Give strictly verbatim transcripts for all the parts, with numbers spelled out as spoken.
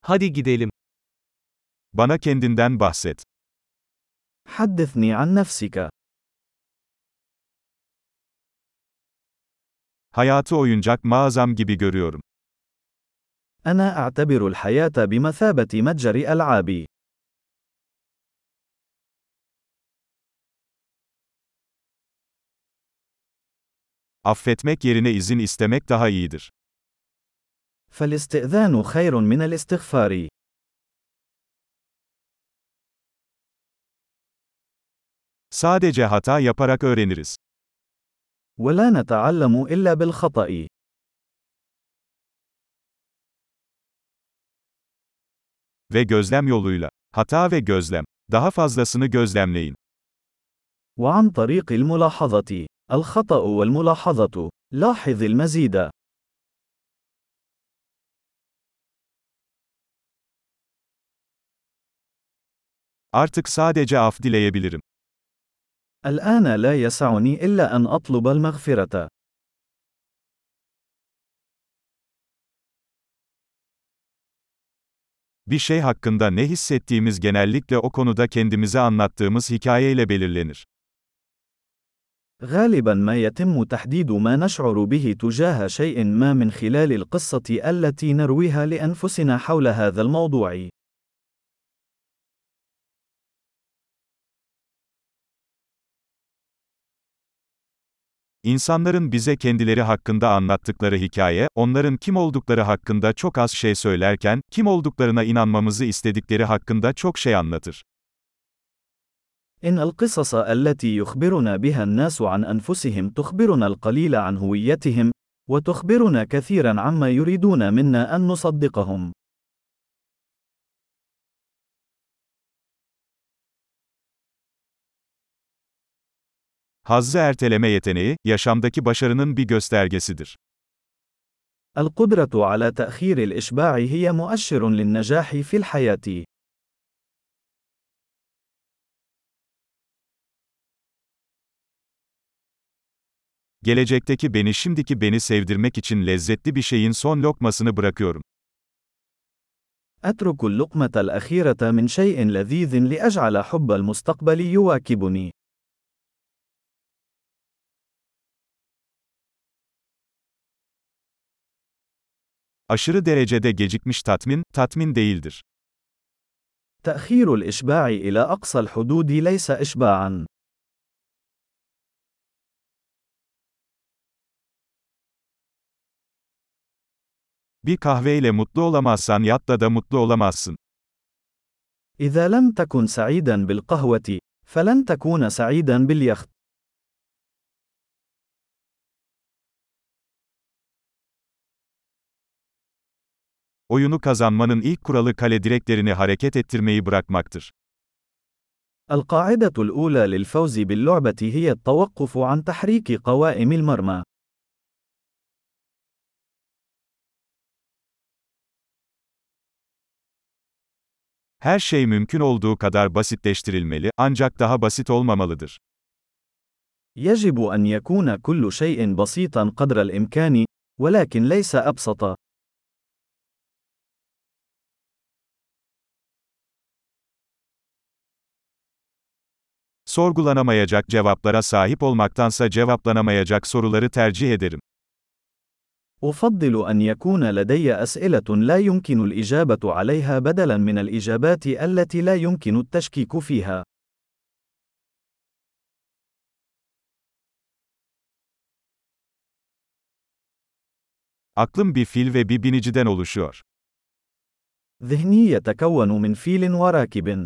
Hadi gidelim. Bana kendinden bahset. حدثني عن نفسك. Hayatı oyuncak mağazam gibi görüyorum. أنا أعتبر الحياة بمثابة متجر ألعاب. Affetmek yerine izin istemek daha iyidir. فالاستئذان خير من الاستغفار. Sadece hata yaparak öğreniriz. ولا نتعلم إلا بالخطأ. Ve gözlem yoluyla. Hata ve gözlem. Daha fazlasını gözlemleyin. وعن طريق الملاحظة. الخطأ والملاحظة. لاحظ المزيد. Artık sadece af dileyebilirim. الآن لا يسعني إلا أن أطلب المغفرة. Bir şey hakkında ne hissettiğimiz genellikle o konuda kendimize anlattığımız hikayeyle belirlenir. غالبا ما يتم تحديد ما نشعر به تجاه شيء ما من خلال القصة التي نرويها لأنفسنا حول هذا الموضوع. İnsanların bize kendileri hakkında anlattıkları hikaye, onların kim oldukları hakkında çok az şey söylerken, kim olduklarına inanmamızı istedikleri hakkında çok şey anlatır. إن القصص التي يخبرنا بها الناس عن أنفسهم تخبرنا القليل عن هويتهم، وتخبرنا كثيرا عما يريدون منا أن نصدقهم. Hazzı erteleme yeteneği, yaşamdaki başarının bir göstergesidir. القدرة على تأخير الإشباع هي مؤشر للنجاح في الحياة. Gelecekteki beni şimdiki beni sevdirmek için lezzetli bir şeyin son lokmasını bırakıyorum. أترك اللقمة الأخيرة من شيء لذيذ لأجعل حب المستقبل يواكبني. Aşırı derecede gecikmiş tatmin, tatmin değildir. تأخير الإشباع إلى أقصى الحدود ليس إشباعًا. Bir kahveyle mutlu olamazsan yatla da mutlu olamazsın. إذا لم تكن سعيدًا بالقهوة، فلن تكون سعيدًا باليخت. Oyunu kazanmanın ilk kuralı kale direklerini hareket ettirmeyi bırakmaktır. القاعدة الأولى للفوز باللعبة هي التوقف عن تحريك قوائم المرمى. Her şey mümkün olduğu kadar basitleştirilmeli, ancak daha basit olmamalıdır. يجب أن يكون كل شيء بسيطًا قدر الإمكان، ولكن ليس أبسط. Sorgulanamayacak cevaplara sahip olmaktansa cevaplanamayacak soruları tercih ederim. أفضل أن يكون لدي أسئلة لا يمكن الإجابة عليها بدلاً من الإجابات التي لا يمكن التشكيك فيها. Aklım bir fil ve bir biniciden oluşuyor. ذهني يتكون من فيل وراكب.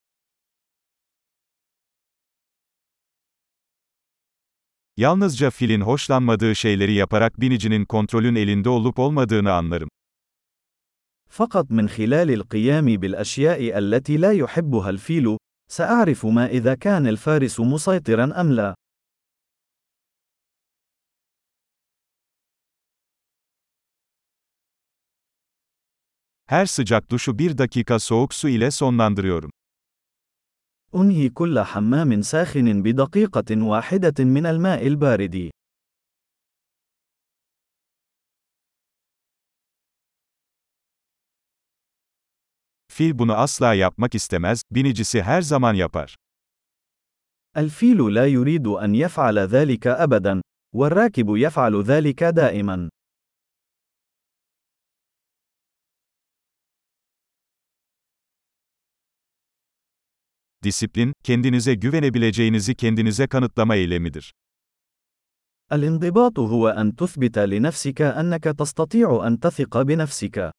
Yalnızca filin hoşlanmadığı şeyleri yaparak binicinin kontrolün elinde olup olmadığını anlarım. فقط من خلال القيام بالأشياء التي لا يحبها الفيل، سأعرف ما إذا كان الفارس مسيطرا أم لا. Her sıcak duşu bir dakika soğuk su ile sonlandırıyorum. أنهي كل حمام ساخن بدقيقة واحدة من الماء البارد. Fil bunu asla yapmak istemez, binicisi her zaman yapar. الفيل لا يريد أن يفعل ذلك أبدا، والراكب يفعل ذلك دائما. Disiplin, kendinize güvenebileceğinizi kendinize kanıtlama eylemidir. الانضباط هو أن تثبت لنفسك أنك تستطيع أن تثق بنفسك.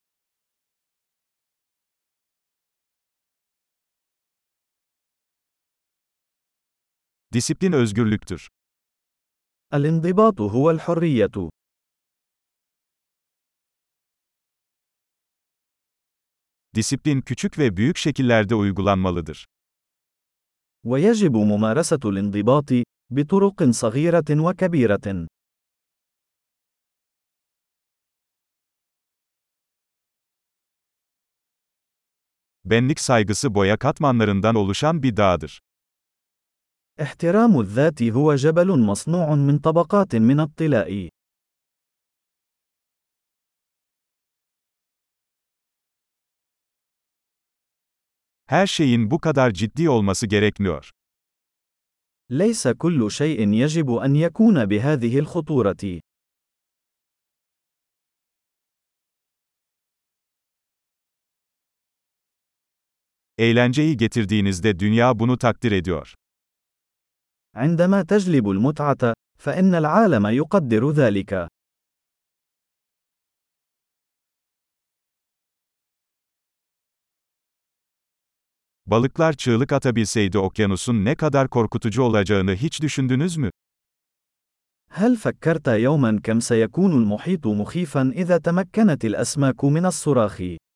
Disiplin özgürlüktür. الانضباط هو الحرية. Disiplin küçük ve büyük şekillerde uygulanmalıdır. ويجب ممارسة الانضباط بطرق صغيرة وكبيرة. Benlik saygısı boya katmanlarından oluşan bir dağdır. احترام الذات هو جبل مصنوع من طبقات من الطلاء. Her şeyin bu kadar ciddi olması gerekmiyor. ليس كل شيء يجب أن يكون بهذه الخطورة. Eğlenceyi getirdiğinizde dünya bunu takdir ediyor. عندما تجلب المتعة، فإن العالم يقدر ذلك. Balıklar çığlık atabilseydi okyanusun ne kadar korkutucu olacağını hiç düşündünüz mü? هل فكرت يوما كم سيكون المحيط مخيفا إذا تمكنت الأسماك من الصراخ؟